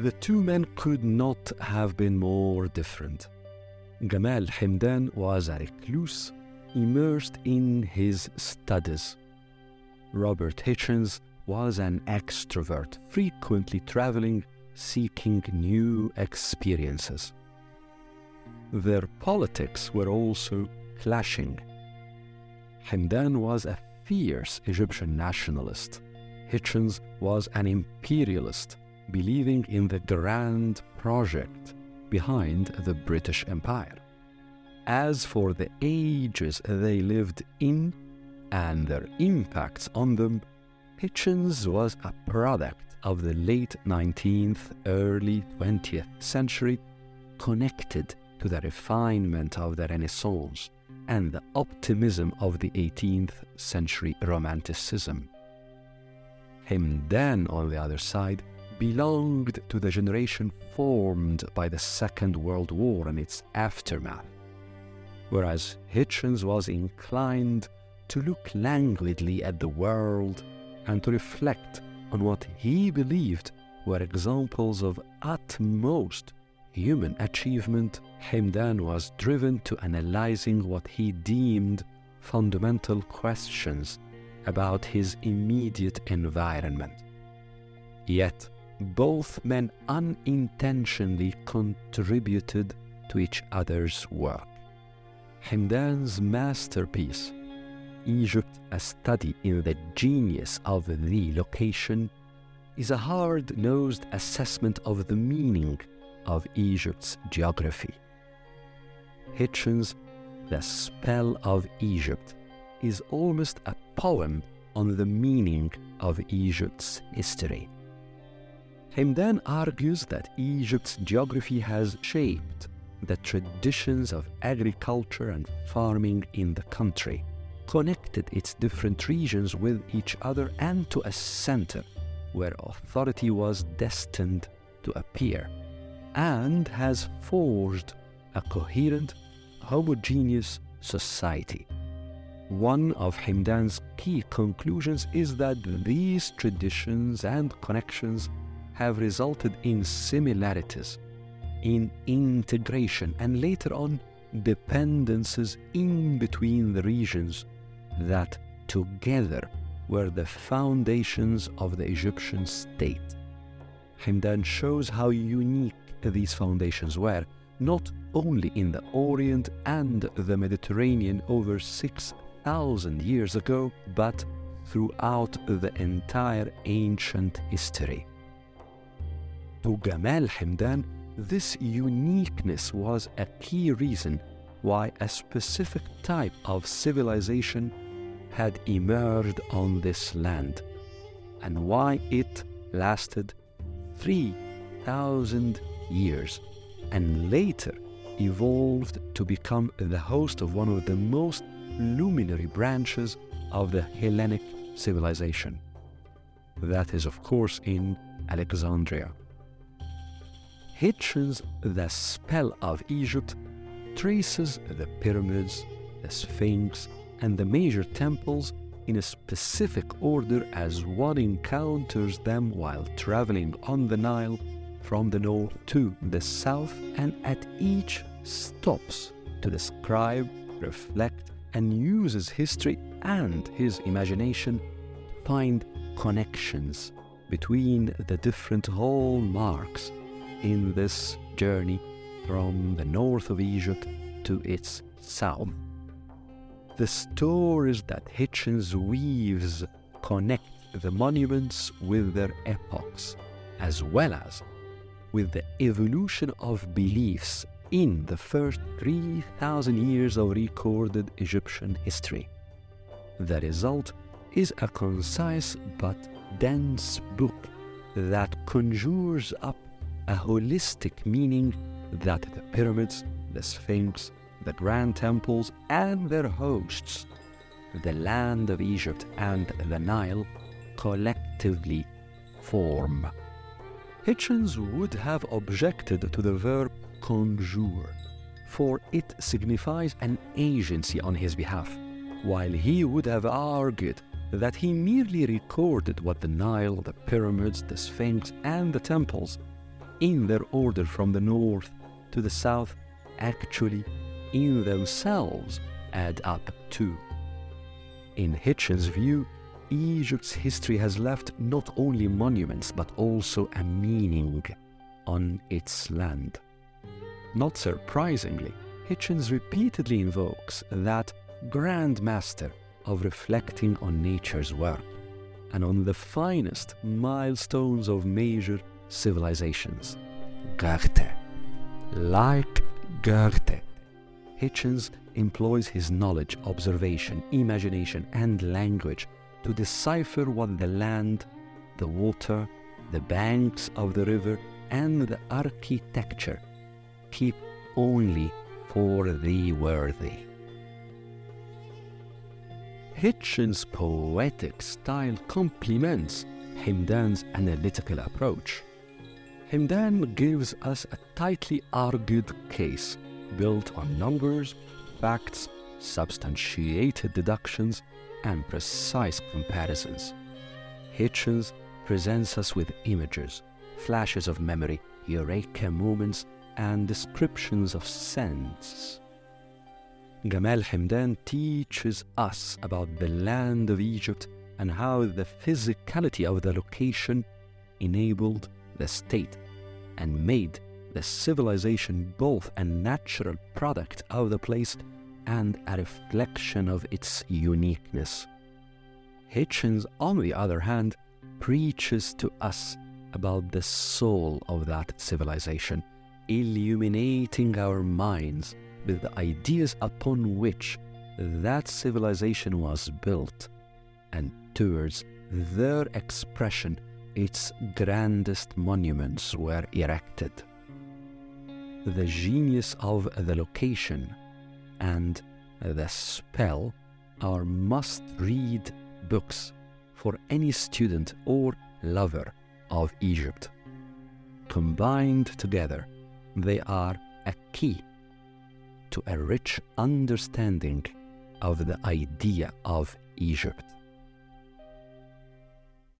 The two men could not have been more different. Gamal Hamdan was a recluse, immersed in his studies. Robert Hitchens was an extrovert, frequently traveling, seeking new experiences. Their politics were also clashing. Hamdan was a fierce Egyptian nationalist. Hitchens was an imperialist, believing in the grand project behind the British Empire. As for the ages they lived in and their impacts on them, Hitchens was a product of the late 19th, early 20th century, connected to the refinement of the Renaissance and the optimism of the 18th century Romanticism. Hamdan, on the other side, belonged to the generation formed by the Second World War and its aftermath, whereas Hitchens was inclined to look languidly at the world and to reflect on what he believed were examples of utmost human achievement. Hamdan was driven to analyzing what he deemed fundamental questions about his immediate environment. Yet, both men unintentionally contributed to each other's work. Hamdan's masterpiece, Egypt, a study in the genius of the location, is a hard-nosed assessment of the meaning of Egypt's geography. Hitchens' The Spell of Egypt is almost a poem on the meaning of Egypt's history. Hamdan argues that Egypt's geography has shaped the traditions of agriculture and farming in the country, connected its different regions with each other and to a center where authority was destined to appear, and has forged a coherent, homogeneous society. One of Hamdan's key conclusions is that these traditions and connections have resulted in similarities, in integration, and later on dependences in between the regions that together were the foundations of the Egyptian state. Hamdan shows how unique these foundations were, not only in the Orient and the Mediterranean over 6,000 years ago, but throughout the entire ancient history. To Gamal Hamdan, this uniqueness was a key reason why a specific type of civilization had emerged on this land, and why it lasted 3,000 years and later evolved to become the host of one of the most luminary branches of the Hellenic civilization. That is, of course, in Alexandria. Hitchens' The Spell of Egypt traces the pyramids, the Sphinx, and the major temples in a specific order as one encounters them while traveling on the Nile from the north to the south, and at each stops to describe, reflect, and uses history and his imagination to find connections between the different hallmarks in this journey from the north of Egypt to its south. The stories that Hitchens weaves connect the monuments with their epochs, as well as with the evolution of beliefs in the first 3,000 years of recorded Egyptian history. The result is a concise but dense book that conjures up a holistic meaning that the pyramids, the Sphinx, the grand temples, and their hosts, the land of Egypt and the Nile, collectively form. Hitchens would have objected to the verb conjure, for it signifies an agency on his behalf, while he would have argued that he merely recorded what the Nile, the pyramids, the Sphinx, and the temples in their order from the north to the south actually in themselves add up too. In Hitchens' view, Egypt's history has left not only monuments but also a meaning on its land. Not surprisingly, Hitchens repeatedly invokes that grand master of reflecting on nature's work and on the finest milestones of major civilizations. Goethe. Like Goethe, Hitchens employs his knowledge, observation, imagination, and language to decipher what the land, the water, the banks of the river, and the architecture keep only for the worthy. Hitchens' poetic style complements Hemdan's analytical approach. Hemdan gives us a tightly argued case built on numbers, facts, substantiated deductions, and precise comparisons. Hitchens presents us with images, flashes of memory, eureka moments, and descriptions of sense. Gamal Hemdan teaches us about the land of Egypt and how the physicality of the location enabled the state and made the civilization both a natural product of the place and a reflection of its uniqueness. Hitchens, on the other hand, preaches to us about the soul of that civilization, illuminating our minds with the ideas upon which that civilization was built, and towards their expression its grandest monuments were erected. The genius of the location and the spell are must-read books for any student or lover of Egypt. Combined together, they are a key to a rich understanding of the idea of Egypt.